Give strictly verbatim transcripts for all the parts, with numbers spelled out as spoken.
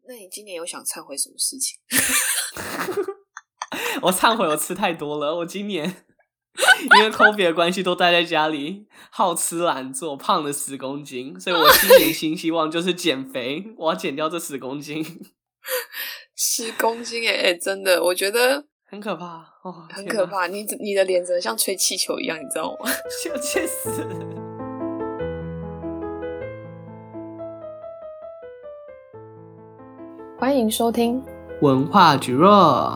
那你今年有想懺悔什麼事情？ 我懺悔我吃太多了，我今年因為 COVID 的關係都待在家裡，好吃懶做，胖了十公斤，所以我今年新希望就是減肥，我要減掉這十公斤。 十公斤耶，哎，真的，我覺得很可怕哦， 很可怕。你你的臉真的像吹氣球一樣，你知道嗎？ 就氣死！ 歡迎收聽文化蒟蒻。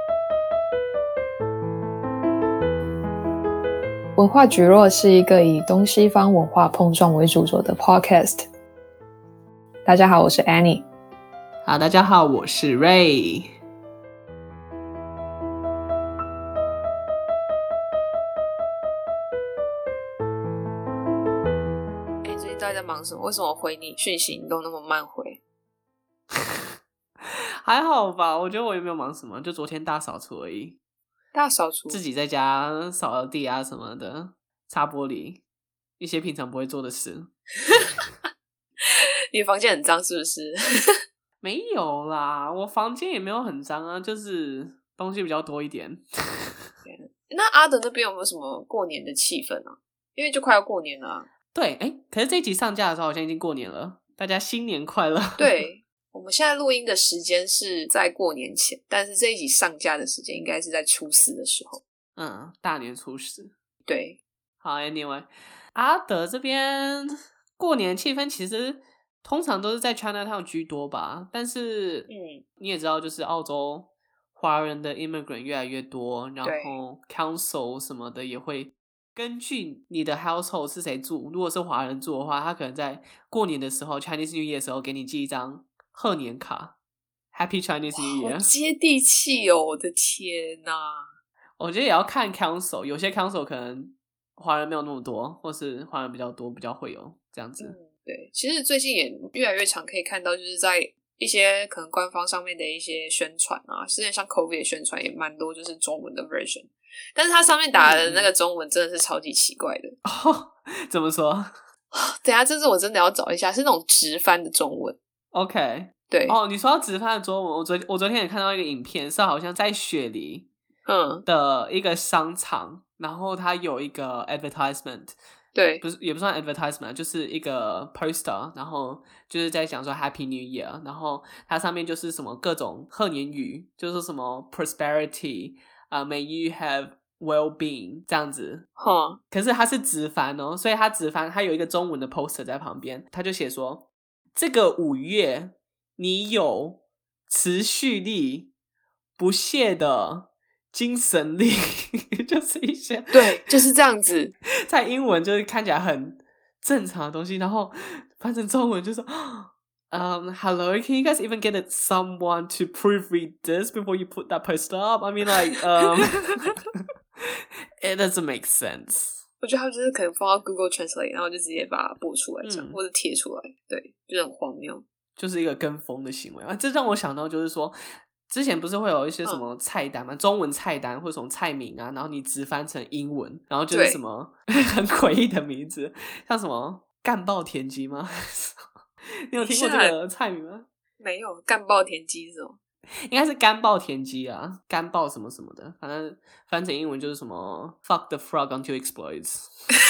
文化蒟蒻是一個以東西方文化碰撞為主軸的 podcast。大家好，我是 Annie。 好，大家好，我是 Ray。 哎，最近大家在忙什麼？為什麼我回你訊息你都那麼慢回？ 還好吧，我覺得我也沒有忙什麼，就昨天大掃除而已。 大掃除， 自己在家掃地啊什麼的，擦玻璃，一些平常不會做的事。 你房間很髒是不是？ 沒有啦，我房間也沒有很髒啊，就是東西比較多一點。 那阿德那邊有沒有什麼過年的氣氛啊？因為就快要過年了啊。 對，哎，可是這一集上架的時候好像已經過年了，大家新年快樂。 對。我們現在錄音的時間是在過年前，但是這一集上架的時間應該是在初四的時候。 嗯，大年初四。 對， 好 ，Anyway， 阿德這邊過年氣氛其實通常都是在 Chinatown 居多吧，但是嗯，你也知道，就是澳洲華人的 immigrant 越來越多，然後 council 什麼的也會根據你的 household 是誰住，如果是華人住的話，他可能在過年的時候 Chinese New Year 的時候給你寄一張賀年卡 ，Happy Chinese New Year， 好接地氣哦！我的天哪， 我覺得也要看 council， 有些 council 可能華人沒有那麼多，或是華人比較多，比較會有這樣子。 嗯，對，其實最近也越來越常可以看到，就是在一些可能官方上面的一些宣傳啊，之前像 COVID 的宣傳也蠻多，就是中文的 version， 但是它上面打的那個中文真的是超級奇怪的。 哦，怎麼說？ 等一下，這次我真的要找一下，是那種直翻的中文。 OK， 對哦，你說到直翻的中文，我昨我昨天也看到一個影片，是好像在雪梨嗯的一個商場，嗯、然後它有一個 advertisement， 對， 不是也不算 advertisement， 就是一個 poster， 然後就是在講說 Happy New Year， 然後它上面就是什麼各種賀年語，就是什麼 prosperity 啊、uh, ，May you have well-being 這樣子， 哈、嗯， 可是它是直翻哦，所以它直翻，它有一個中文的 poster 在旁邊，它就寫說。這個五月，你有持續力、不懈的精神力，就是一些對，就是這樣子。 在英文就是看起來很正常的東西，然後翻成中文就說，Um, hello, can you guys even get someone to proofread this before you put that poster up? I mean, like, um, it doesn't make sense. 我覺得他們就是可能放到 Google Translate， 然後就直接把它播出來這樣、嗯、或者貼出來，對，就很荒謬， 就是一個跟風的行為啊。這讓我想到就是說，之前不是會有一些什麼菜單嗎？嗯、中文菜單或者什麼菜名啊，然後你直翻成英文，然後就是什麼很詭異的名字，像什麼乾爆田雞嗎？你有聽過這個菜名嗎？ 沒有，乾爆田雞是什麼？ 應該是乾爆田雞啊，乾爆什麼什麼的，反正翻成英文就是什麼 fuck the frog until it explodes。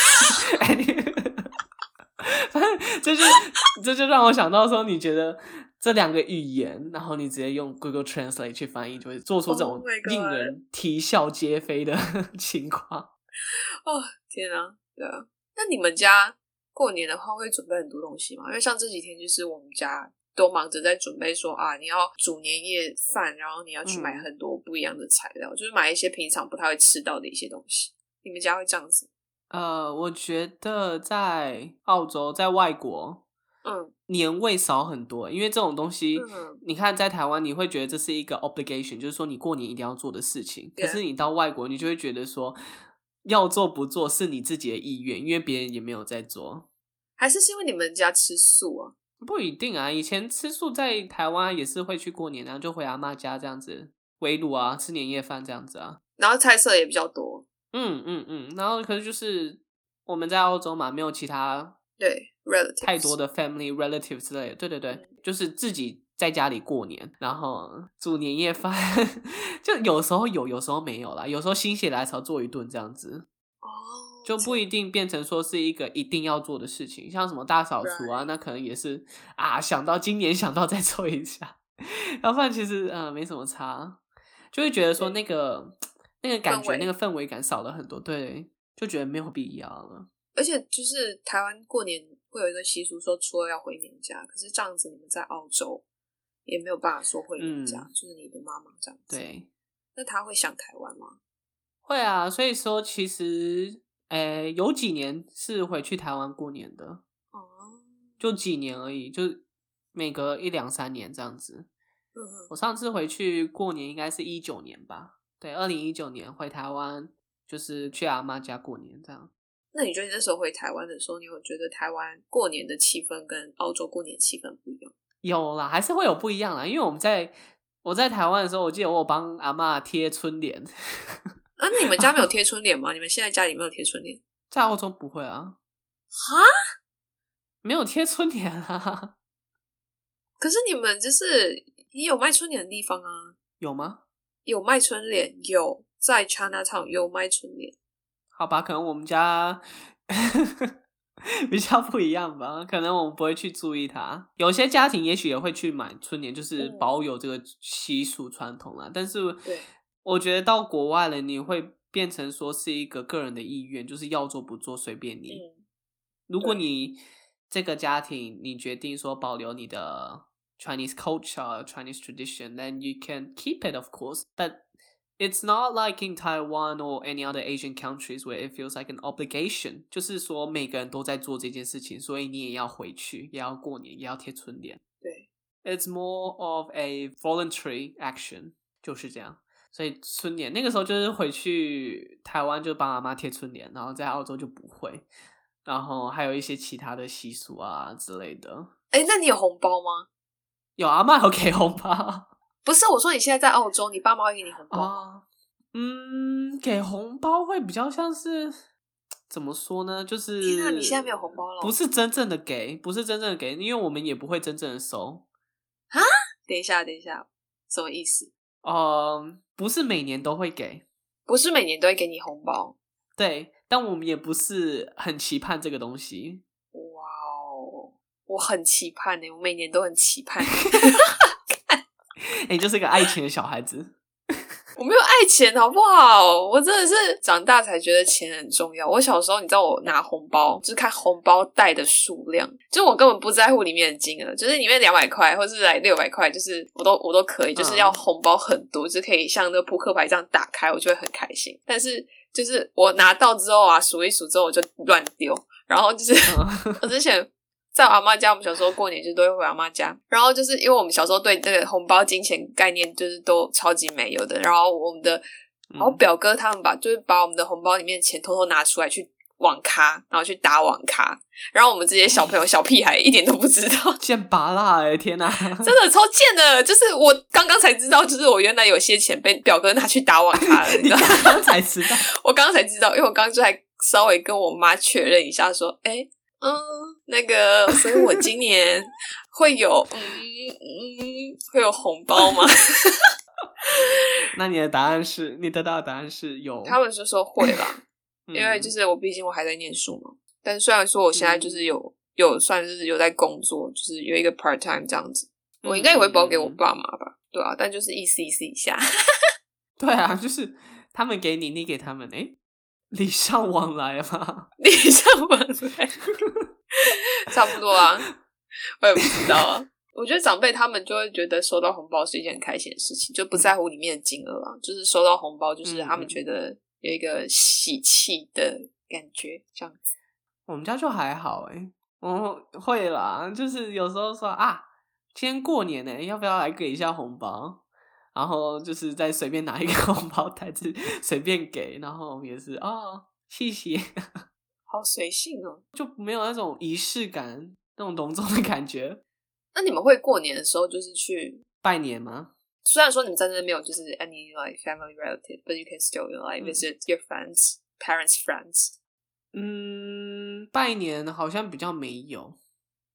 反正這就這就讓我想到說，你覺得這兩個語言，然後你直接用 Google Translate 去翻譯，就會做出這種令人啼笑皆非的情況。 哦，天啊，對啊。那你們家過年的話會準備很多東西嗎？因為像這幾天就是我們家。都忙着在準備說啊，你要煮年夜飯，然後你要去買很多不一樣的材料，嗯、就是買一些平常不太會吃到的一些東西。你們家會這樣子？呃， 我覺得在澳洲，在外國，嗯，年味少很多，因為這種東西，嗯、你看在台灣，你會覺得這是一個 obligation，就是說你過年一定要做的事情。Yeah. 可是你到外國，你就會覺得說，要做不做是你自己的意願，因為別人也沒有在做。 還是是因為你們家吃素啊？ 不一定啊，以前吃素在台灣也是會去過年，然後就回阿嬤家這樣子圍爐啊，吃年夜飯這樣子啊， 然後菜色也比較多。 嗯嗯嗯，然後可是就是我們在澳洲嘛，沒有其他對 relatives 太多的 family relative 之類的，對對對，嗯、就是自己在家裡過年，然後煮年夜飯，就有時候有，有時候沒有啦。有時候心血來潮做一頓這樣子，哦，就不一定變成說是一個一定要做的事情。像什麼大掃除啊， Right. 那可能也是啊，想到今年想到再做一下，要不然其實呃沒什麼差，就會覺得說那個那個感覺、那個氛圍感少了很多，對，就覺得沒有必要了。 而且就是台灣過年會有一個習俗說初二要回娘家，可是這樣子你們在澳洲也沒有辦法說回娘家，嗯、就是你的媽媽這樣子。對，那他會想台灣嗎？ 會啊，所以說其實，誒，有幾年是回去台灣過年的，哦，就幾年而已，就每隔一兩三年這樣子。嗯哼，我上次回去過年應該是一九年吧，對，二零一九年回台灣，就是去阿嬤家過年這樣。 那你覺得你那時候回台灣的時候，你有覺得台灣過年的氣氛跟澳洲過年氣氛不一樣？ 有啦，還是會有不一樣啦。因為我們在我在台灣的時候，我記得我有幫阿嬤貼春聯。 啊，你們家沒有貼春聯嗎？你們現在家裡沒有貼春聯？ 在澳洲不會啊。 哈？沒有貼春聯啊？ 可是你們就是也有賣春聯的地方啊？ 有嗎？ 有賣春聯，有在 Chinatown 有賣春聯。 好吧，可能我們家比較不一樣吧，可能我們不會去注意它。有些家庭也許也會去買春聯，就是保有這個習俗傳統啦。嗯、但是，我覺得到國外了，你會變成說是一個個人的意願，就是要做不做隨便你。嗯、如果你這個家庭你決定說保留你的 Chinese culture, Chinese tradition, then you can keep it, of course. But it's not like in Taiwan or any other Asian countries where it feels like an obligation. 就是說每個人都在做這件事情，所以你也要回去，也要過年，也要貼春聯。對。It's more of a voluntary action. 就是這樣。所以春聯那個時候就是回去台灣就幫阿媽貼春聯，然後在澳洲就不會。然後還有一些其他的習俗啊之類的。 誒，那你有紅包嗎？ 有，阿媽有給紅包。 不是，我說你現在在澳洲，你爸媽會給你紅包嗎？ 啊，嗯，給紅包會比較像是怎麼說呢？就是天啊，你現在沒有紅包了？ 不是真正的給，不是真正的給，因為我們也不會真正的收。 啊？等一下，等一下，什麼意思？ 嗯，不是每年都會給， 不是每年都會給你紅包。對， 但我們也不是很期盼這個東西。 哇哦，我很期盼耶，我每年都很期盼。 你、欸、就是個愛錢的小孩子。 我沒有愛錢好不好？我真的是長大才覺得錢很重要。我小時候你知道我拿紅包就是看紅包袋的數量，就是我根本不在乎裡面的金額，就是裡面兩百塊或是來六百塊，就是我都我都可以，就是要紅包很多，就是可以像那個撲克牌這樣打開，我就會很開心。但是就是我拿到之後啊，數一數之後我就亂丟，然後就是我之前在我阿嬤家，我們小時候過年就都會回阿嬤家，然後就是因為我們小時候對這個紅包金錢概念就是都超級沒有的，然後我們的，然後表哥他們把就是把我們的紅包裡面的錢偷偷拿出來去網咖，然後去打網咖，然後我們這些小朋友小屁孩一點都不知道， 賤拔辣欸，天哪， 真的超賤的，就是我剛剛才知道，就是我原來有些錢被表哥拿去打網咖了，你知道嗎？ 你剛剛才知道， 我剛剛才知道，因為我剛剛就還稍微跟我媽確認一下，說，誒嗯，那個，所以我今年會有，嗯嗯，會有紅包嗎？ 那你的答案是，你得到的答案是有。 他們就說會啦，嗯、因為就是我畢竟我還在念書嘛。但是雖然說我現在就是有、嗯、有算是有在工作，就是有一個 part time 這樣子，我應該也會包給我爸媽吧？對啊，但就是意思意思一下。對啊，就是他們給你，你給他們，誒禮尚往來嘛， 禮尚往來，差不多啊，我也不知道啊。我覺得長輩他們就會覺得收到紅包是一件很開心的事情，就不在乎裡面的金額啊，就是收到紅包，就是他們覺得有一個喜氣的感覺，這樣子。 我們家就還好誒、欸，我會啦，就是有時候說啊，今天過年呢、欸，要不要來給一下紅包？然後就是再隨便拿一個紅包袋子隨便給，然後也是哦，謝謝， 好隨性哦，就沒有那種儀式感，那種隆重的感覺。 那你們會過年的時候就是去拜年嗎？ 雖然說你們在那邊沒有就是 any like family relative, but you can still like visit your friends, parents' friends. 嗯，拜年好像比較沒有。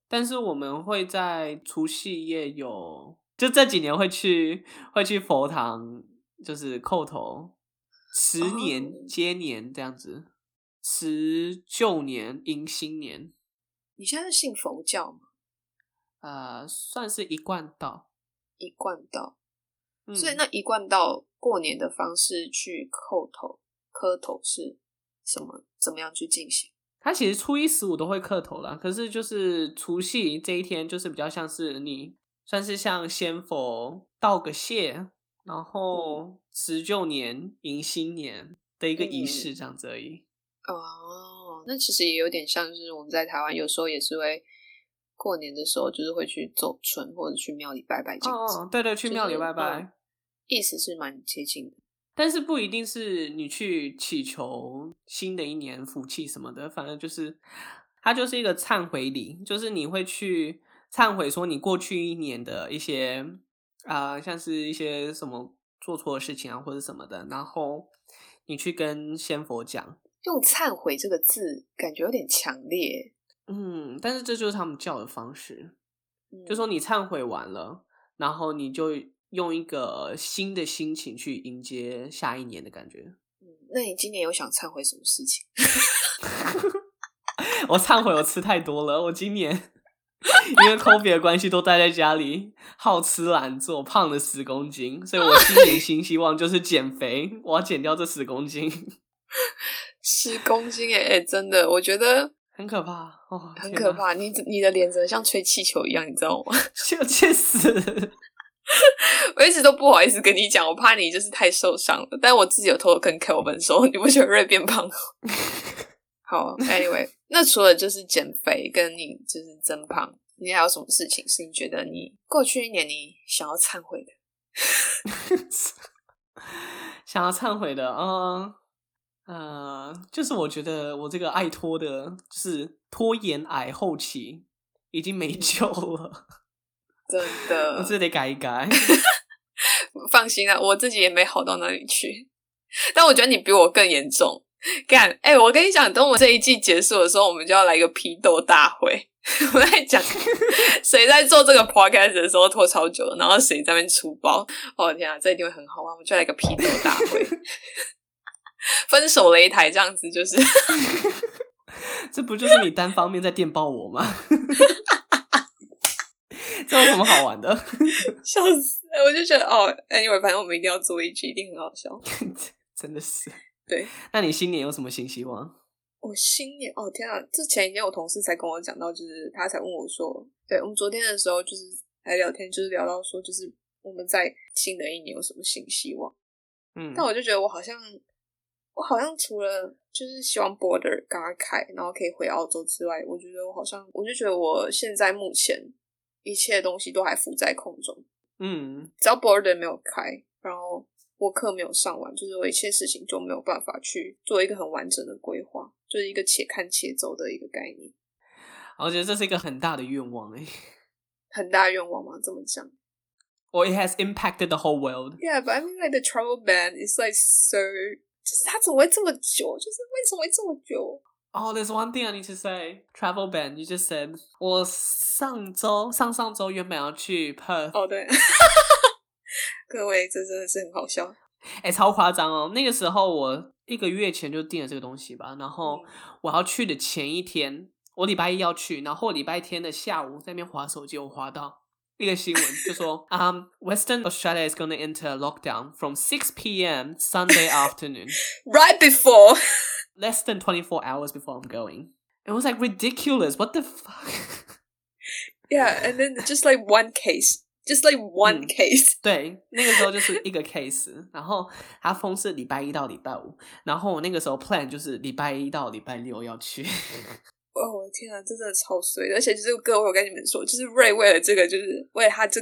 但是我們會在除夕夜有，就這幾年會去會去佛堂，就是叩頭，辭年接年這樣子，辭舊年迎新年。 你現在是信佛教嗎？ 呃，算是一貫道。 一貫道， 嗯、 所以那一貫道過年的方式去叩頭磕頭是什麼？怎麼樣去進行？ 他其實初一十五都會磕頭啦，可是就是除夕這一天，就是比較像是你算是向先佛道個謝，然後辭舊年迎新年的一個儀式這樣子而已。 嗯、哦，那其實也有點像是我們在台灣有時候也是會過年的時候，就是會去走春或者去廟裡拜拜這樣子。 哦，對對，去廟裡拜拜， 就是嗯、意思是蠻接近的。 但是不一定是你去祈求新的一年福氣什麼的，反正就是它就是一個懺悔禮，就是你會去懺悔說你過去一年的一些啊、呃，像是一些什麼做錯的事情啊或者什麼的，然後你去跟先佛講。 用懺悔這個字感覺有點強烈。 嗯，但是這就是他們教的方式， 嗯、 就說你懺悔完了，然後你就用一個新的心情去迎接下一年的感覺。 嗯，那你今年有想懺悔什麼事情？ 我懺悔我吃太多了，我今年因為 COVID 的關係都待在家裡，好吃懶做，胖了十公斤，所以我今年新希望就是減肥，我要減掉這十公斤。 十公斤耶，哎，真的，我覺得很可怕哦， 很可怕。你你的臉真的像吹氣球一樣，你知道嗎？ 就去死！ 我一直都不好意思跟你講，我怕你就是太受傷了。但我自己有偷偷跟 Kelvin 說，你不覺得瑞變胖？好 ，Anyway， 那除了就是減肥跟你就是增胖，你還有什麼事情是你覺得你過去一年你想要懺悔的？ 想要懺悔的，嗯。呃，就是我覺得我這個愛拖的，就是拖延癌後期已經沒救了， 真的， 我這得改一改。 放心啦，我自己也沒好到哪裡去，但我覺得你比我更嚴重。幹，哎、欸，我跟你講，等我們這一季結束的時候，我們就要來一個批鬥大會。我在講誰在做這個 podcast 的時候拖超久了，然後誰在那邊出包。哦天啊，這一定會很好玩，我們就來一個批鬥大會。分手擂台這樣子，就是這不就是你單方面在電爆我嗎？這有什麼好玩的？ 笑死！我就覺得哦 ，anyway， 反正我們一定要做一集，一定很好笑。 真的是。 對， 那你新年有什麼新希望？ 我新年哦，天啊！之前已經有同事才跟我講到，就是他才問我說，對，我們昨天的時候就是來聊天，就是聊到說，就是我們在新的一年有什麼新希望。嗯，但我就覺得我好像。我好像除了就是希望 border 趕快開，然後可以回澳洲之外，我覺得我好像，我就覺得我現在目前一切東西都還浮在空中。嗯，只要 border 沒有開，然後我課沒有上完，就是我一切事情就沒有辦法去做一個很完整的規劃，就是一個且看且走的一個概念。 我覺得這是一個很大的願望誒， 很大的願望嗎？這麼講 ？Or it has impacted the whole world. Yeah, but I mean like the travel ban is like so. 就是他怎麼會這麼久？就是為什麼會這麼久？ 哦、oh, there's one thing I need to say. Travel ban. You just said. 我上周、上上周原本要去 Perth。 哦，對。各位，這真的是很好笑。 哎、欸，超誇張哦！那個時候我一個月前就訂了這個東西吧，然後我要去的前一天，我禮拜一要去，然後禮拜天的下午在那邊滑手機，我滑到一個新聞就說，um, Western Australia is going to enter lockdown from six p.m. Sunday afternoon. Right before. Less than twenty-four hours before I'm going. It was like ridiculous. What the fuck? Yeah, and then just like one case. Just like one case. 嗯、對，那個時候就是一個 case. 然後它封是禮拜一到禮拜五，然後我那個時候 plan 就是禮拜一到禮拜六要去。哦， 我的天啊，這真的超衰的！而且就是各位，我跟你們說，就是 Ray 為了這個，就是為了他這個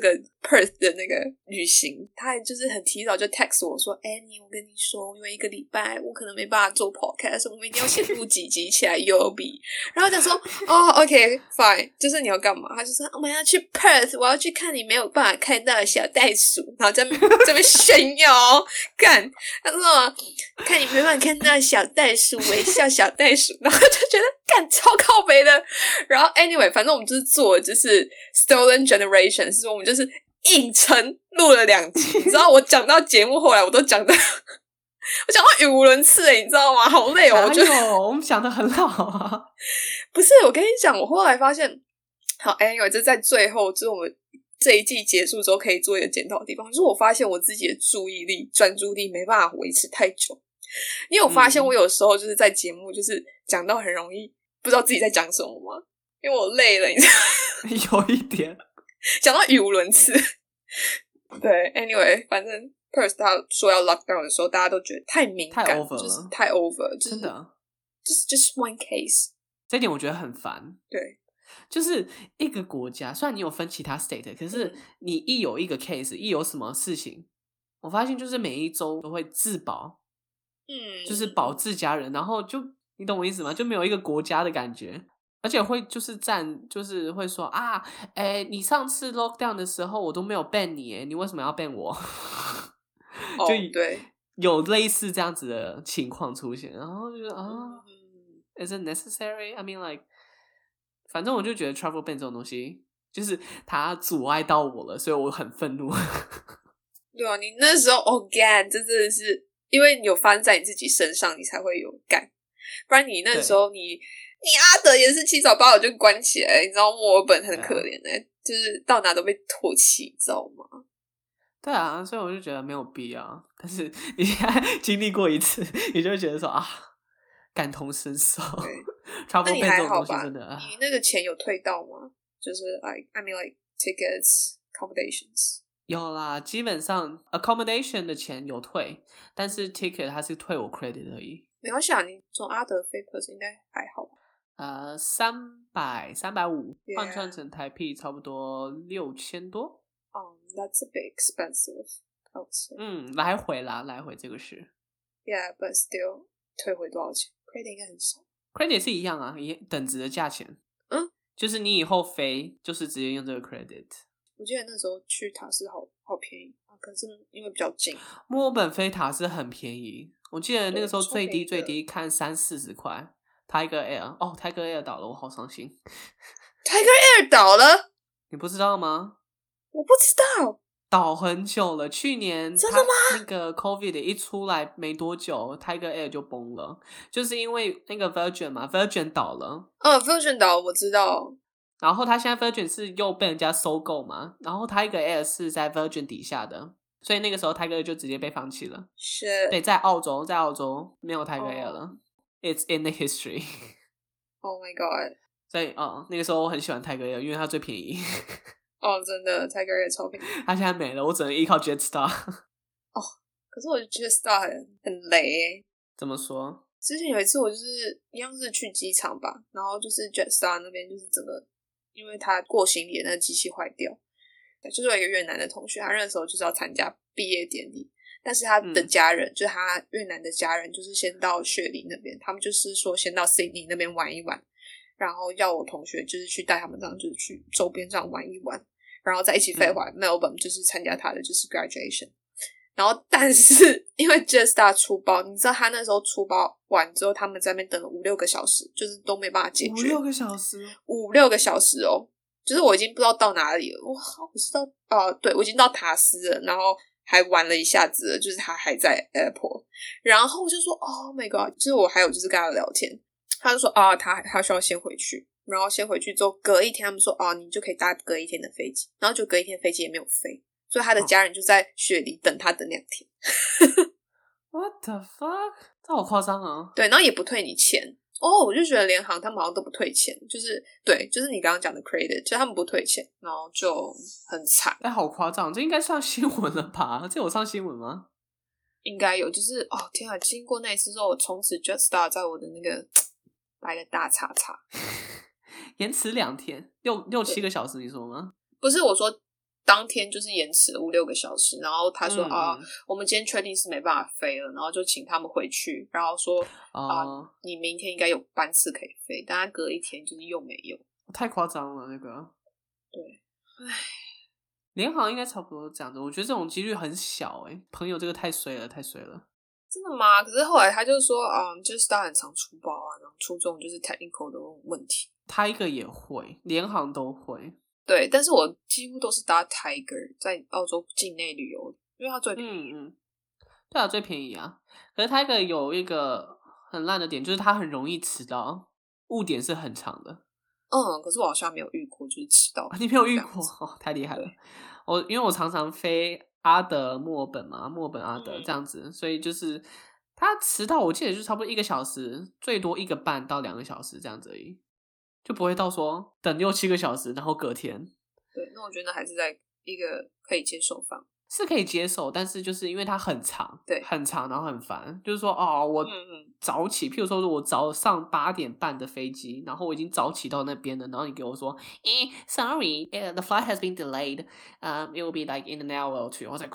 Perth 的那個旅行，他還就是很提早就 text 我說 Annie 我跟你說因為一個禮拜我可能沒辦法做 podcast 我們一定要先錄幾集起來優比然後我講說哦 OK fine 就是你要幹嘛他就說我們要去 Perth 我要去看你沒有辦法看到的小袋鼠然後在這邊炫耀幹他說看你沒辦法看到小袋鼠微笑小袋鼠然後就覺得幹超靠北的然後 anyway 反正我們就是做就是 Stolen Generation 是說我們就是硬撐錄了兩集，你知道我講到節目後來我都講到我講到語無倫次誒，你知道嗎？好累哦，我覺得我們講得很好啊。 不是，我跟你講，我後來發現，好 anyway 這在最後就是我們這一季結束之後可以做一個檢討的地方，就是我發現我自己的注意力專注力沒辦法維持太久。因為我發現我有時候就是在節目就是講到很容易不知道自己在講什麼嗎？因為我累了，你知道有一點講到語無倫次。對 anyway 反正 Perth 他說要 lockdown 的時候大家都覺得太敏感太 over 了， 就是太 over 就是真的就是 just one case 這一點我覺得很煩。 對， 就是一個國家雖然你有分其他 state 可是你一有一個 case 一有什麼事情我發現就是每一周都會自保， 嗯， 就是保自家人然後就你懂我意思嗎？就沒有一個國家的感覺而且會就是站，就是會說啊，哎，你上次 lockdown 的時候我都沒有 ban 你，哎，你為什麼要 ban 我？ 哦， 就對， 有類似這樣子的情況出現，然後就覺得啊、 嗯、 ，is it necessary? I mean like， 反正我就覺得 travel ban 這種東西，就是它阻礙到我了，所以我很憤怒。 對啊，你那時候哦幹，這真的是因為你有發生在你自己身上，你才會有幹，不然你那時候你。你阿德也是七早八早就關起來，你知道墨爾本很可憐的、欸啊，就是到哪都被唾棄，你知道嗎？ 對啊，所以我就覺得沒有必要。但是你現在經歷過一次，你就會覺得說啊，感同身受。 那你還好吧？ 真的啊、 你那個錢有退到嗎？就是 like I mean like tickets, accommodations。 有啦，基本上 accommodation 的錢有退，但是 ticket 它是退我 credit 而已。 沒關係啊，你從阿德飛 Perth 應該還好吧？ 呃，三百三百五，換 Yeah. 算成台幣差不多六千多。 Um, that's a bit expensive. I would say. 嗯，來回啦，來回這個是。 Yeah, but still，退回多少錢 ？Credit 應該很少。 Credit 是一樣啊，一等值的價錢。 嗯， 就是你以後飛，就是直接用這個 credit。 我記得那時候去塔斯好好便宜啊，可是因為比較近。 墨爾本飛塔斯很便宜，我記得那個時候最低最低看三四十塊。Tiger Air 哦 ，Tiger Air 倒了，我好傷心。 Tiger Air 倒了， 你不知道嗎？ 我不知道， 倒很久了。去年真的嗎？ 那個 COVID 一出來沒多久 ，Tiger Air 就崩了，就是因為那個 Virgin 嘛 ，Virgin 倒了。 嗯 ，Virgin 倒了，我知道。 然後他現在 Virgin 是又被人家收購嘛，然後 Tiger Air 是在 Virgin 底下的，所以那個時候 Tiger Air 就直接被放棄了。 是， 對，在澳洲，在澳洲沒有 Tiger Air 了。 Oh. It's in the history. Oh my god! 所以哦，那個時候我很喜歡 Tiger Air，因為它最便宜。 哦，真的 Tiger Air 超便宜。 它現在沒了，我只能依靠 Jetstar。 哦，可是我覺得 Jetstar 很很雷耶。 怎麼說？ 之前有一次我就是一樣是去機場吧，然後就是 Jetstar 那邊就是整個，因為他過行李的那個機器壞掉，就是有一個越南的同學，他那時候就是要參加畢業典禮。但是他的家人、嗯、就是他越南的家人，就是先到雪梨那邊，他們就是說先到 Sydney 那邊玩一玩，然後要我同學就是去帶他們這樣，就是去周邊這樣玩一玩，然後再一起飛回來、嗯、Melbourne 就是參加他的就是 graduation。然後但是因為 Jetstar 出包，你知道他那時候出包完之後，他們在那邊等了五六個小時，就是都沒辦法解決。 五六個小時， 五六個小時哦，就是我已經不知道到哪裡了。哇，我知道哦、呃，對，我已經到塔斯了，然後。還玩了一下子，就是他還在 airport， 然後我就說 Oh my god，就是我還有就是跟他聊天，他就說啊，他他需要先回去，然後先回去之後隔一天他們說啊，你就可以搭隔一天的飛機，然後就隔一天飛機也沒有飛，所以他的家人就在雪梨等他等兩天。 What the fuck？ 這好誇張啊！ 對，然後也不退你錢。哦、oh, 我就覺得聯航他們好像都不退錢，就是對，就是你剛剛講的 credit，就他們不退錢，然後就很慘。 哎，好誇張，這應該上新聞了吧？這有上新聞嗎？ 應該有，就是哦天啊！經過那一次之後，我從此 Jetstar 在我的那個來個大叉叉， 延遲兩天，六六七個小時，你說嗎？ 不是，我說當天就是延遲了五六個小時，然後他說、嗯、啊，我們今天確定是沒辦法飛了，然後就請他們回去，然後說、哦、啊，你明天應該有班次可以飛，但他隔一天就是又沒有， 太誇張了那個。 對，唉， 聯航應該差不多這樣子，我覺得這種幾率很小哎、欸，朋友這個太衰了，太衰了。 真的嗎？可是後來他就說啊、嗯，就是他很常出包啊，然後出這種就是 technical 的問題。 Tiger 也會，聯航都會。 對，但是我幾乎都是搭 Tiger 在澳洲境內旅遊，因為它最便宜。嗯嗯， 對啊，最便宜啊。可是 Tiger 有一個很爛的點，就是它很容易遲到，誤點是很長的。 嗯，可是我好像沒有遇過，就是遲到。 你沒有遇過？哦，太厲害了。我因為我常常飛阿德、墨爾本嘛，墨爾本阿德這樣子，嗯、所以就是它遲到，我記得就差不多一個小時，最多一個半到兩個小時這樣子而已。就不會到說等六七個小時，然後隔天。 對，那我覺得還是在一個可以接受範圍， 是可以接受，但是就是因為它很長， 對， 很長，然後很煩。就是說，哦，我早起，嗯嗯譬如說，我早上八點半的飛機，然後我已經早起到那邊了，然後你給我說，誒 ，sorry，the flight has been delayed，um, it will be like in an hour or two。I was like,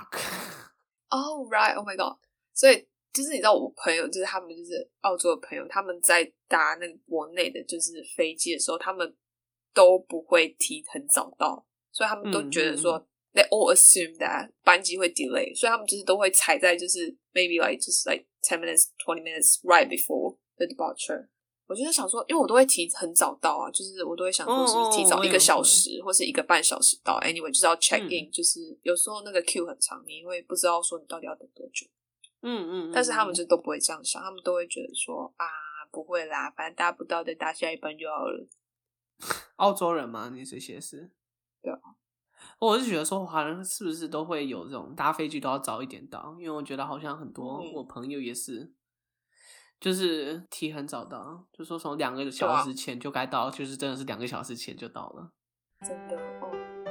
fuck。Oh right, oh my god。所以。就是你知道我朋友，就是他們就是澳洲的朋友，他們在搭那個國內的就是飛機的時候，他們都不會提很早到，所以他們都覺得說、嗯、they all assume that 班機會 delay， 所以他們就是都會踩在就是 maybe like just like ten minutes, twenty minutes right before the departure。我就是想說，因為我都會提很早到啊，就是我都會想說是不是提早一個小時、哦、或是一個半小時到 ，anyway 就是要 check in，、嗯、就是有時候那個 queue 很長，你會不知道說你到底要等多久。嗯嗯，但是他們就都不會這樣想，他們都會覺得說啊，不會啦，反正搭不到再搭下一班就好了。 澳洲人嗎？你這些是？ 對啊， 我是覺得說，華人是不是都會有這種搭飛機都要早一點到？因為我覺得好像很多我朋友也是，嗯、就是提很早到，就說從兩個小時前就該到，啊、就是真的是兩個小時前就到了。 真的哦。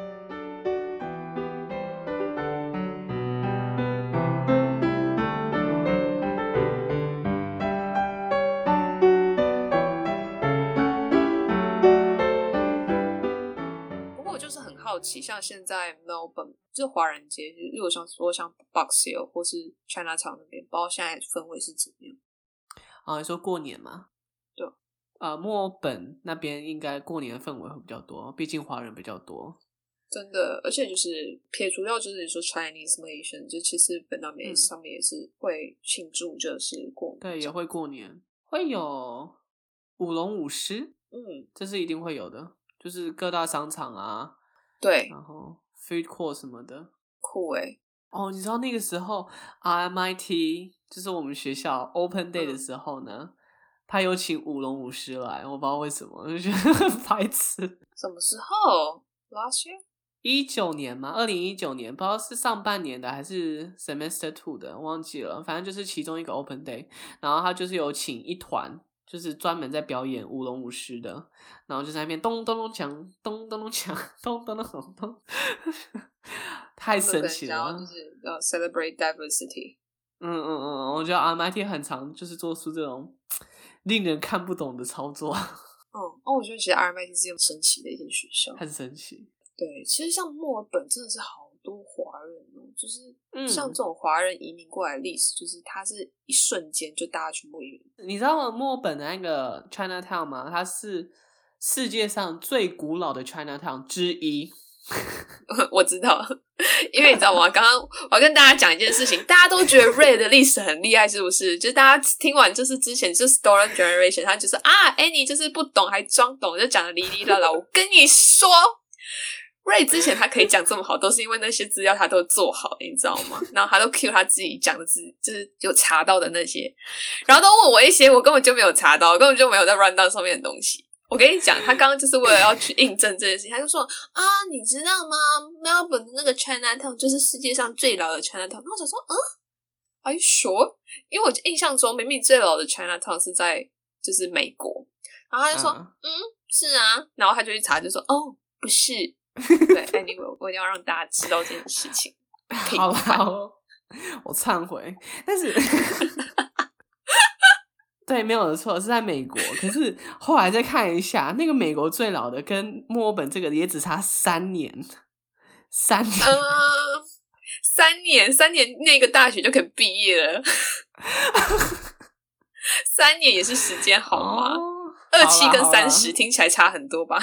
好奇，像現在 Melbourne 就是華人街，如果像說像 Box Hill 或是 Chinatown 那邊，不知道現在氛圍是怎麼樣？ 啊，你說過年嗎？ 對， 啊，墨爾本那邊應該過年的氛圍會比較多，畢竟華人比較多。 真的，而且就是撇除掉就是你說 Chinese Malaysian，就其實本那邊上面也是會慶祝，就是過年、嗯。對， 也會過年，會有舞龍舞獅， 嗯， 這是一定會有的，就是各大商場啊。 對， 然後 food court 什麼的， 酷欸。 哦，你知道那個時候 R M I T 就是我們學校 Open Day 的時候呢，嗯、他有請舞龍舞獅來，我不知道為什麼，我就覺得很白痴。 什麼時候 ？Last year？ 一九年嗎？二零一九年，不知道是上半年的還是 Semester Two 的，忘記了。反正就是其中一個 Open Day，然後他就是有請一團。就是專門在表演舞龍舞獅的，然後就在那邊咚咚咚鏘，咚咚咚鏘，咚咚咚咚咚，太神奇了！ 就是要 celebrate diversity。 嗯嗯嗯，我覺得 R M I T 很常就是做出這種令人看不懂的操作。 哦哦，我覺得其實 R M I T 是很神奇的一間學校， 很神奇。 對，其實像墨爾本真的是好多華人哦，就是像這種華人移民過來的歷史，嗯、就是它是一瞬間就大家全部移民。你知道墨爾本的那個 Chinatown 嗎？它是世界上最古老的 Chinatown 之一。 我知道，因為你知道嗎？剛剛我要跟大家講一件事情，大家都覺得 Ray 的歷史很厲害，是不是？就是大家聽完就是之前就是 Stolen Generation， 他就是啊 Annie 就是不懂還裝懂，就講的哩哩啦啦。我跟你說。Ray 之前他可以講這麼好，都是因為那些資料他都做好，你知道嗎？然後他都 cue 他自己講的字，就是有查到的那些，然後都問我一些我根本就沒有查到，根本就沒有在 rundown 上面的東西。我跟你講，他剛剛就是為了要去印證這件事情，他就說啊，你知道嗎 ？Melbourne 的那個 Chinatown 就是世界上最老的 Chinatown。然後我想說，嗯 ，Are you sure？因為我印象中明明最老的 Chinatown 是在就是美國，然後他就說，嗯，嗯，是啊，然後他就去查，就說，哦，不是。對 ，anyway， 我一定要讓大家知道這件事情。 好了，我懺悔，但是對，沒有的錯，是在美國。可是後來再看一下，那個美國最老的跟墨爾本這個也只差三年， 三年， 嗯，三年，三年那個大學就可以畢業了。三年也是時間好嗎？二七、哦、跟三十聽起來差很多吧？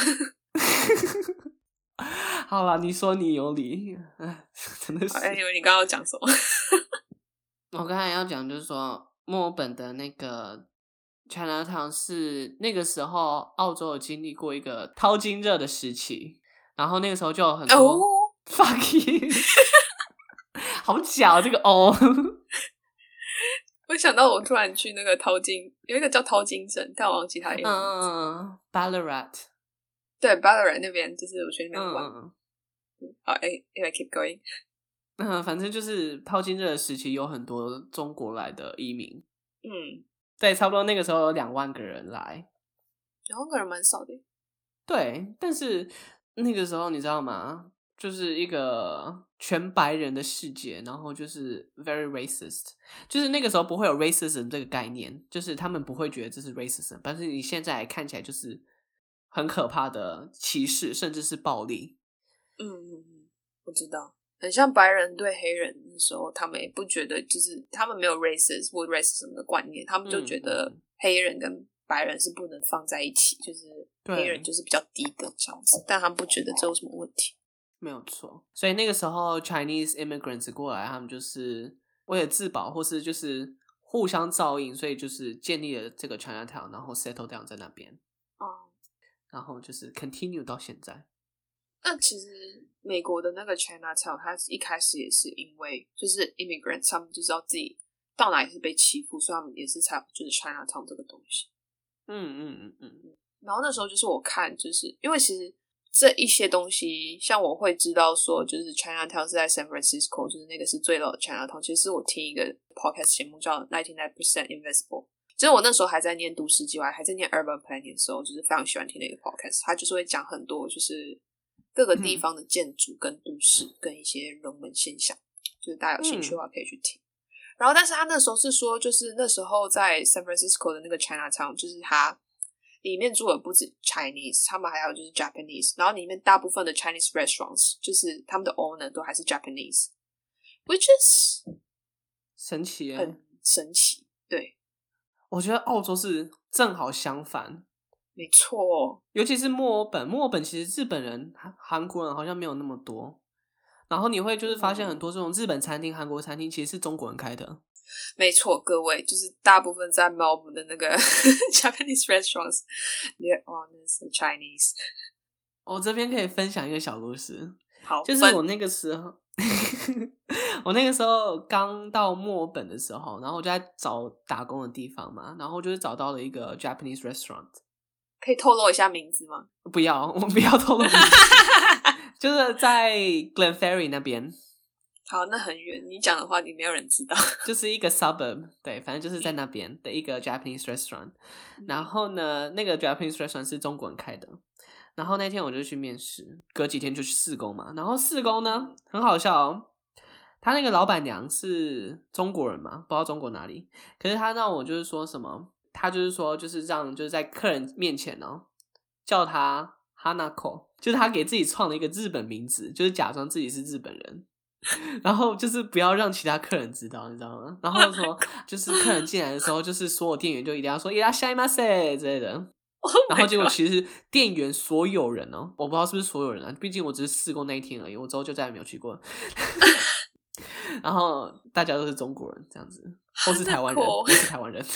好啦，你說你有理，真的是。 哎，以為你剛剛要講什麼？ 我剛才要講就是說，墨爾本的那個 Chinatown 是那個時候澳洲有經歷過一個淘金熱的時期，然後那個時候就有很多、oh. fuck you， 好假這個哦。 我想到我突然去那個淘金，有一個叫淘金鎮，但我忘記它的名字。 嗯 Ballarat， 對 Ballarat 那邊就是我去那邊玩。 嗯好，哎，anyway keep going。 嗯，反正就是淘金熱的時期，有很多中國來的移民。 嗯， 對，差不多那個時候有兩萬個人來。 兩萬個人蠻少的。 對，但是那個時候你知道嗎？就是一個全白人的世界，然後就是 very racist， 就是那個時候不會有 racism 這個概念，就是他們不會覺得這是 racism， 但是你現在看起來就是很可怕的歧視，甚至是暴力。 嗯嗯嗯，我知道，很像白人對黑人的時候，他們也不覺得，就是他們沒有 racist 或 racism 的觀念，他們就覺得黑人跟白人是不能放在一起，就是黑人就是比較低的這樣子，但他們不覺得這有什麼問題。 沒有錯，所以那個時候 Chinese immigrants 過來，他們就是為了自保，或是就是互相照應，所以就是建立了這個 Chinatown， 然後 settle down 在那邊，哦，然後就是 continue 到現在。 那其實美國的那個 Chinatown， 它一開始也是因為就是 immigrants， 他們就知道自己到哪裡是被欺負，所以他們也是才就是 Chinatown 這個東西。 嗯嗯嗯嗯。 然後那時候就是我看，就是因為其實。這一些東西，像我會知道說，就是 Chinatown 是在 San Francisco， 就是那個是最老的 Chinatown。其實我聽一個 podcast 節目叫ninety nine percent Invisible， 其實我那時候還在念都市計劃，還在念 urban planning 的時候，就是非常喜歡聽那個 podcast。他就是會講很多，就是各個地方的建築跟都市、嗯、跟一些人文現象，就是大家有興趣的話可以去聽。嗯、然後，但是他那時候是說，就是那時候在 San Francisco 的那個 Chinatown， 就是他。裡面住的不止 Chinese， 他們還有就是 Japanese， 然後裡面大部分的 Chinese restaurants 就是他們的 owner 都還是 Japanese，which is 神奇耶， 很神奇。對， 我覺得澳洲是正好相反， 沒錯， 尤其是墨爾本，墨爾本其實日本人、韓國人好像沒有那麼多，然後你會就是發現很多這種日本餐廳、韓國餐廳其實是中國人開的。 沒錯，各位，就是大部分在 Melbourne 的那個 Japanese restaurants， they're honest Chinese。 我這邊可以分享一個小故事， 好， 就是我那個時候，我那個時候剛到墨爾本的時候，然後我就在找打工的地方嘛，然後就是找到了一個 Japanese restaurant， 可以透露一下名字嗎？ 不要，我不要透露名字，就是在 Glenferrie 那邊。 好，那很遠，你講的話，你沒有人知道。 就是一個 suburb， 對，反正就是在那邊的一個 Japanese restaurant。然後呢，那個 Japanese restaurant 是中國人開的。然後那天我就去面試，隔幾天就去試工嘛。然後試工呢，很好笑哦。他那個老闆娘是中國人嘛，不知道中國哪裡。可是他讓我就是說什麼，他就是說就是讓就是在客人面前哦，叫他 Hanako， 就是他給自己創了一個日本名字，就是假裝自己是日本人。然後就是不要讓其他客人知道，你知道嗎？然後說就是客人進來的時候，就是所有店員就一定要說いらっしゃいませ之類的。Oh、然後結果其實店員所有人哦，我不知道是不是所有人啊，畢竟我只是試過那一天而已，我之後就再也沒有去過。然後大家都是中國人這樣子，或是台灣人，或是台灣人。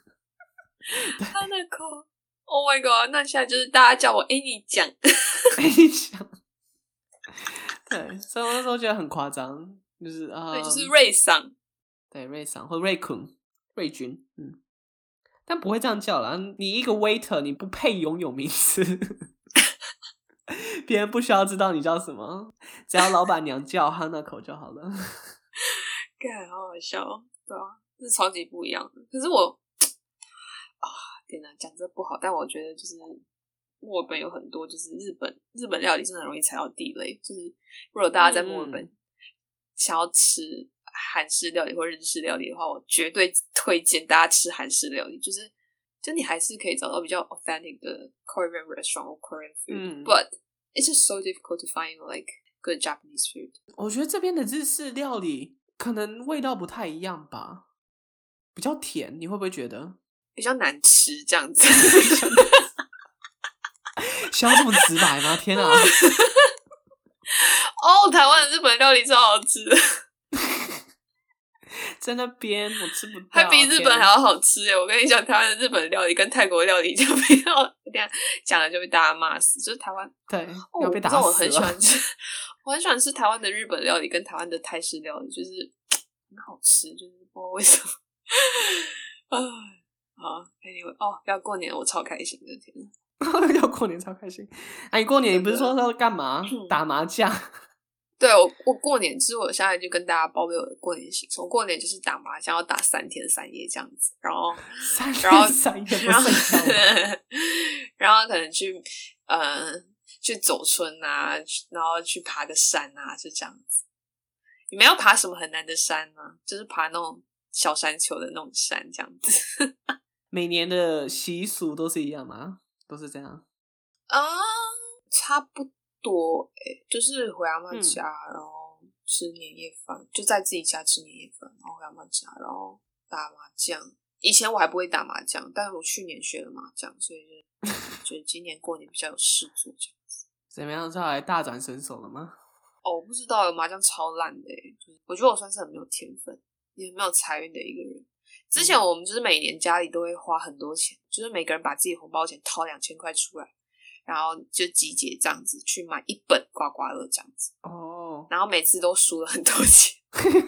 Hanako Oh my god！ 那現在就是大家叫我哎，你講， 哎，你講。對，所以我那時候覺得很誇張，就是啊， 對，就是瑞桑， 對，瑞桑或瑞坤、瑞君，嗯，但不會這樣叫啦。你一個 waiter， 你不配擁有名字，別人不需要知道你叫什麼，只要老闆娘叫Hanako就好了。 幹，好好笑，對啊，這是超級不一樣的。可是我啊，天哪，講這不好，但我覺得就是。墨爾本有很多就是日本日本料理，真的很容易踩到地雷。就是如果大家在墨爾本想要吃韓式料理或日式料理的話，我絕對推薦大家吃韓式料理。就是就你還是可以找到比較 authentic 的 Korean restaurant 或 Korean food，嗯，but it's just so difficult to find like good Japanese food。 我覺得這邊的日式料理可能味道不太一樣吧，比較甜，你會不會覺得比較難吃這樣子？ 需要這麼直白嗎？天啊！ 哦，台灣的日本料理超好吃的。 在那邊我吃不到， 還比日本還要好吃耶！我跟你講，台灣的日本料理跟泰國料理就比較這樣講了就被大家罵死。就是台灣對， 哦、要被打死了。我很喜歡吃，我很喜歡吃台灣的日本料理跟台灣的泰式料理，就是很好吃，就是不知道為什麼。啊，好 ，anyway， 哦，要過年我超開心的，天要過年超開心！哎、啊，你過年你不是說要幹嘛？打麻將。 對，我我過年之後，我現在就跟大家報備我的過年行程。我過年就是打麻將，要打三天三夜這樣子，然後三然後天三夜不然後睡然後可能去呃去走春啊，然後去爬個山啊，就這樣子。你們要爬什麼很難的山嗎？就是爬那種小山丘的那種山，這樣子。 每年的習俗都是一樣嗎？都是這樣啊、呃，差不多。多誒、欸，就是回阿嬤家、嗯，然後吃年夜飯，就在自己家吃年夜飯，然後回阿嬤家，然後打麻將。以前我還不會打麻將，但是我去年學了麻將，所以就覺得今年過年比較有事做這樣子。 怎麼樣？後來大展身手了嗎？ 哦，我不知道，麻將超爛的誒，就是我覺得我算是很沒有天分，也很沒有財運的一個人。之前我們就是每年家裡都會花很多錢，就是每個人把自己紅包錢掏兩千塊出來。然後就集結這樣子去買一本刮刮樂這樣子哦，oh. 然後每次都輸了很多錢。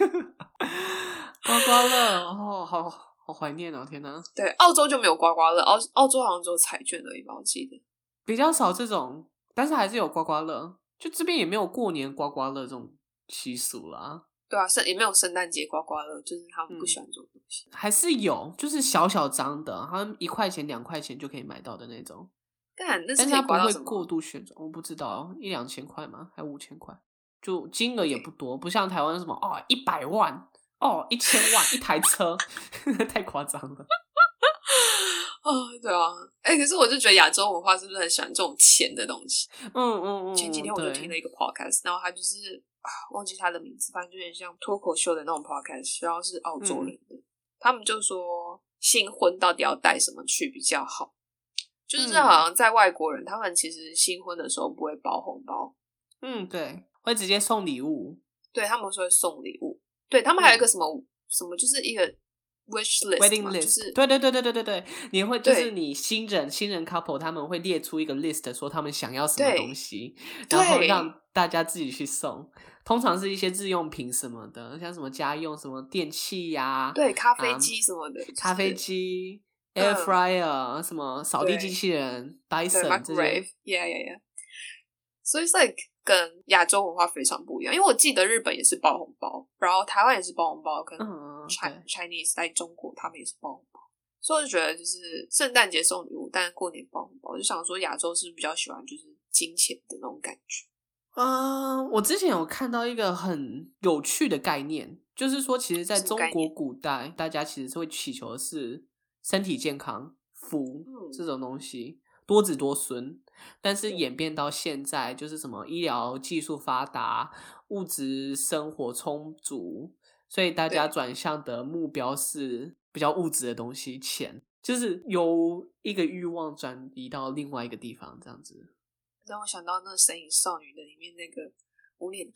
刮刮樂哦，好好懷念哦！天哪， 對，澳洲就沒有刮刮樂，澳澳洲好像只有彩券而已吧，我記得比較少這種，但是還是有刮刮樂。就這邊也沒有過年刮刮樂這種習俗啦。對啊， 聖也沒有聖誕節刮刮樂，就是他們不喜歡這種東西。 嗯、還是有，就是小小張的，好像一塊錢、兩塊錢就可以買到的那種。 但是它不會過度旋轉，我不知道一兩千塊嗎？還五千塊？就金額也不多，okay. 不像台灣什麼哦一百萬哦一千萬一台車，太誇張了。 哦，對啊，哎、欸，可是我就覺得亞洲文化是不是很喜歡這種錢的東西？ 嗯嗯嗯。 前幾天我就聽了一個 podcast，然後他就是啊忘記他的名字，反正就有點像脫口秀的那種 podcast，然後是澳洲人的，嗯、他們就說新婚到底要帶什麼去比較好。就是這好像在外國人、嗯，他們其實新婚的時候不會包紅包， 嗯，對，會直接送禮物， 對，他們說會送禮物，對，他們還有一個什麼、嗯、什麼，就是一個 wish list， wedding list， 就是對對對對對對對，你會就是你新人新人 couple 他們會列出一個 list， 說他們想要什麼東西，然後讓大家自己去送，通常是一些日用品什麼的，像什麼家用什麼電器呀、啊， 對，咖啡機什麼的，嗯、 咖啡機。Air fryer、嗯、什麼掃地機器人 Dyson 這些 yeah, yeah, yeah. 所以 like 跟亞洲文化非常不一樣，因為我記得日本也是包紅包，然後台灣也是包紅包，跟 Chinese、嗯、Chinese 在中國他們也是包紅包，所以我就覺得就是聖誕節送禮物，但是過年包紅包，我就想說亞洲是比較喜歡就是金錢的那種感覺。 嗯、uh, 我之前有看到一個很有趣的概念，就是說其實在中國古代大家其實是會祈求的是身體健康、福、嗯、這種東西，多子多孫。但是演變到現在，就是什麼醫療技術發達、物質生活充足，所以大家轉向的目標是比較物質的東西，錢，就是由一個慾望轉移到另外一個地方，這樣子。 讓我想到那個《神隱少女》的裡面那個無臉，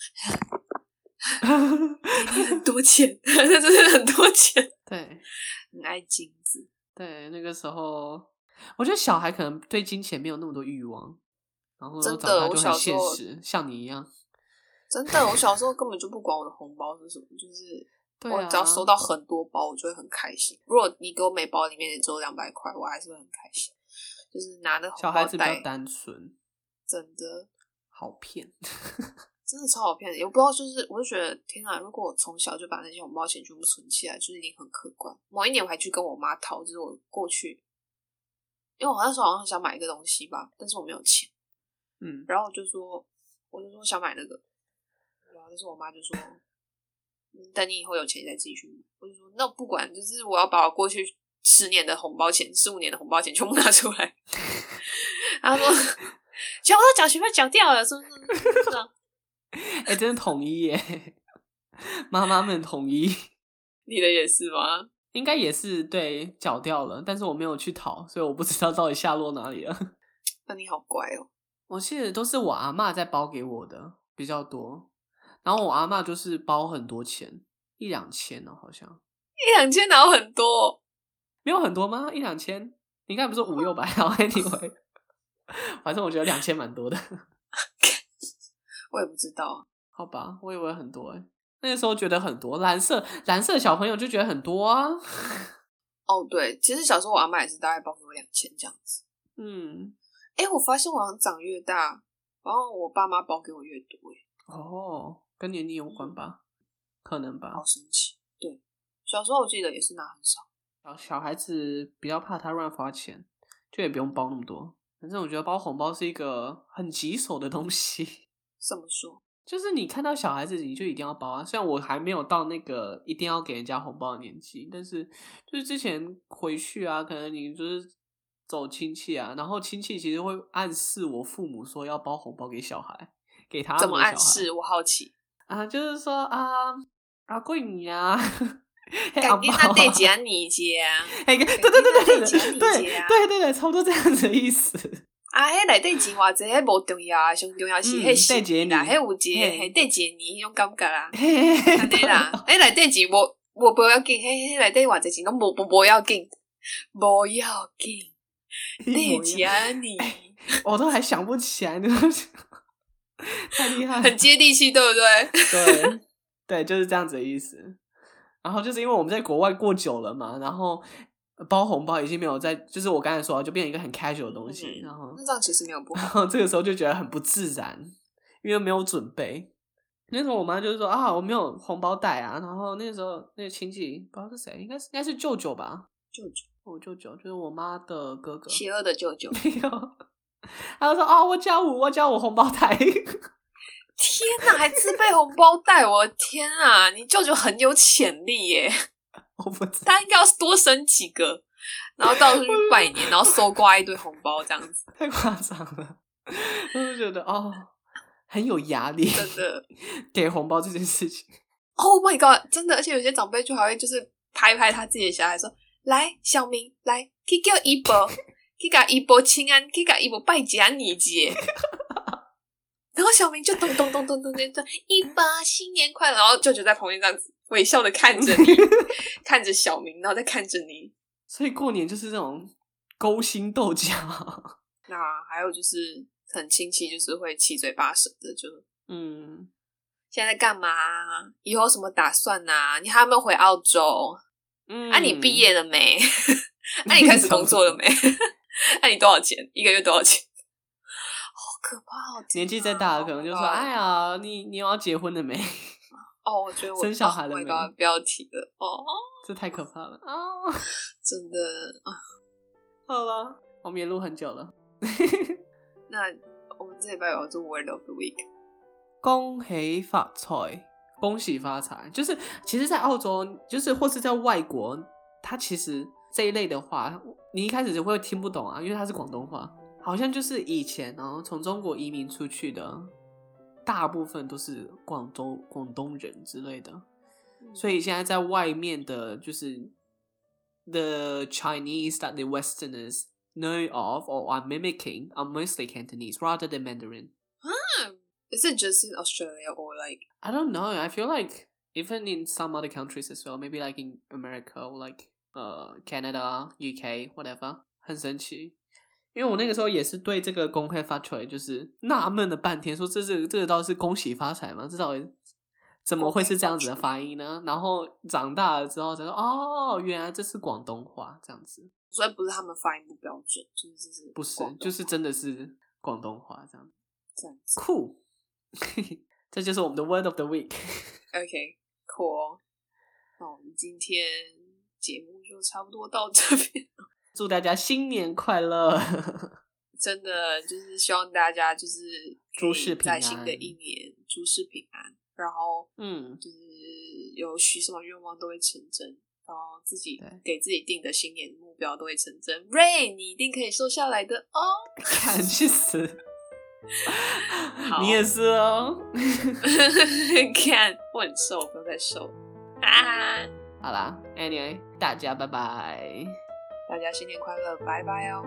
給你很多錢，那真的很多錢， 對， 很愛金子。 對，那個時候，我覺得小孩可能對金錢沒有那麼多慾望，然後長大就很現實，像你一樣。 真的，我小時候根本就不管我的紅包是什麼，就是我只要收到很多包，我就會很開心。如果你給我每包裡面也只有兩百塊，我還是會很開心。就是拿那紅包袋， 小孩子比較單純， 真的好騙， 真的超好騙的。也不知道，就是我就覺得天哪！如果我從小就把那些紅包錢全部存起來，就是一定很可觀。某一年我還去跟我媽討，就是我過去，因為我那時候好像想買一個東西吧，但是我沒有錢，嗯，然後我就說，我就說想買那個，然後但是我媽就說，等你以後有錢你再自己去買。我就說那我不管，就是我要把我過去十年的紅包錢、十五年的紅包錢全部拿出來。然後說，全部都繳學費繳掉了，是不是？是啊。 哎、欸，真的統一耶，媽媽們統一。 你的也是嗎？ 應該也是，對，繳掉了，但是我沒有去討，所以我不知道到底下落哪裡了。 那你好乖哦。 我記得都是我阿嬤在包給我的比較多，然後我阿嬤就是包很多錢，一兩千哦，好像一兩千哪有很多？ 沒有很多嗎？一兩千？你剛才不是五六百？然後 anyway， 反正我覺得兩千蠻多的。 我也不知道， 好吧，我以為很多誒。那個時候覺得很多，藍色藍色小朋友就覺得很多啊。 哦，對，其實小時候我阿嬤也是大概包給我兩千這樣子。 嗯， 哎，我發現我好像長越大，然後我爸媽包給我越多誒。 哦，跟年齡有關吧？嗯、可能吧。 好神奇。對，小時候我記得也是拿很少。 小小孩子比較怕他亂花錢，就也不用包那麼多。反正我覺得包紅包是一個很棘手的東西。 怎麼說？ 就是你看到小孩子，你就一定要包啊。雖然我還沒有到那個一定要給人家紅包的年紀，但是就是之前回去啊，可能你就是走親戚啊，然後親戚其實會暗示我父母說要包紅包給小孩，給他們的小孩。 怎麼暗示？我好奇啊，就是說啊，阿貴你啊， 趕緊那對姐你姐啊， 對對對對對對對對對對，差不多這樣子的意思。 啊，迄內底錢偌濟，迄無重要啊，上重要是迄心意啦，迄有一個迄對姐你迄種感覺啦，安尼啦，迄內底錢無無無要緊，迄迄內底偌濟錢攏無無無要緊，無要緊，對姐你， 我都還想不起來，太厲害了， 很接地氣，對不對？ 對對，就是這樣子的意思。然後就是因為我們在國外過久了嘛，然後。包紅包已經沒有在，就是我剛才說的，就變成一個很 casual 的東西。嗯、然後那這樣其實沒有不好。 然後這個時候就覺得很不自然，因為沒有準備。那時候我媽就是說啊，我沒有紅包袋啊。然後那個時候那個親戚不知道是誰，應該是應該是舅舅吧？ 舅舅， 我舅舅就是我媽的哥哥， 邪惡的舅舅。 沒有，他就說啊，我交五，我交五紅包袋。 天哪，還自備紅包袋！我的天啊，你舅舅很有潛力耶。 我不知道他應該要多生幾個，然後到處去拜年，然後搜刮一堆紅包，這樣子太誇張了。我就覺得哦，很有壓力， 真的給紅包這件事情。 Oh my god， 真的，而且有些長輩就還會就是拍拍他自己的小孩說：“來，小明，來，去叫姨婆，去給姨婆請安，去給姨婆拜假年節。”然後小明就咚咚咚咚咚咚咚，姨婆新年快樂，然後舅舅在旁邊這樣子。微笑的看着你，看着小明，然後再看着你。 所以過年就是這種勾心鬥角。 那還有就是很親戚，就是會七嘴八舌的，就嗯，現在在幹嘛？以後有什麼打算啊？你還有沒有回澳洲？嗯，啊，你畢業了沒？啊，你開始工作了沒？啊，你多少錢？一個月多少錢？好可怕哦！ 年紀再大的可能就說：“哎呀，你你有要結婚了沒？” 哦，我覺得我生小孩了沒？ 哦、不要提了哦， 這太可怕了啊！ 真的啊， 好了，我們也錄很久了。 那我們這禮拜有要做 Word of the Week， 恭喜發財，恭喜發財。就是其實，在澳洲，就是或是在外國，它其實這一類的話，你一開始就會聽不懂啊，因為它是廣東話，好像就是以前哦，從中國移民出去的。大部分都是廣州、廣東人之類的，嗯、所以現在在外面的，就是 the Chinese that the Westerners know of or are mimicking are mostly Cantonese rather than Mandarin. Huh. Is it just in Australia or like? I don't know. I feel like even in some other countries as well, maybe like in America or like uh Canada, U K, whatever. 很神奇。因為我那個時候也是對這個恭喜發財就是納悶了半天，說這是這個到底是恭喜發財嗎？這到底怎麼會是這樣子的發音呢？然後長大了之後才說，哦，原來這是廣東話這樣子， 所以不是他們發音不標準，就是這是不是，就是真的是廣東話這樣子， 這樣子酷，這就是我們的 Word of the Week。 OK， cool。那我們今天節目就差不多到這邊了。 祝大家新年快樂！ 真的就是希望大家就是諸事平安， 在新的一年諸事平安，然後嗯， 就是有許什麼願望都會成真，然後自己給自己定的新年目標都會成真。Ray，你一定可以瘦下來的哦！ 看去死！ 你也是哦。 看我很瘦，不用再瘦。啊， 好啦 ，Anyway， 大家拜拜， 大家新年快樂，拜拜哦。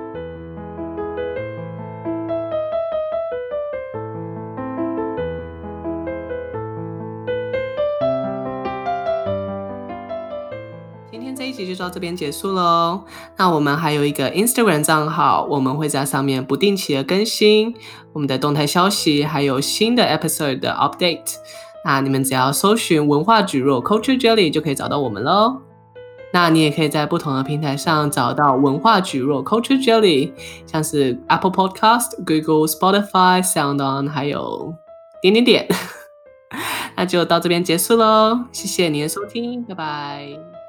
今天這一集就到這邊結束嘍。那我們還有一個 Instagram 賬號，我們會在上面不定期的更新我們的動態消息，還有新的 episode 的 update。那你們只要搜尋文化蒟蒻 Culture Jelly 就可以找到我們嘍。那你也可以在不同的平台上找到文化蒟蒻 Culture Jelly， 像是 Apple Podcast、Google、Spotify、SoundOn， 還有點點點。那就到這邊結束嘍，謝謝你的收聽，拜拜。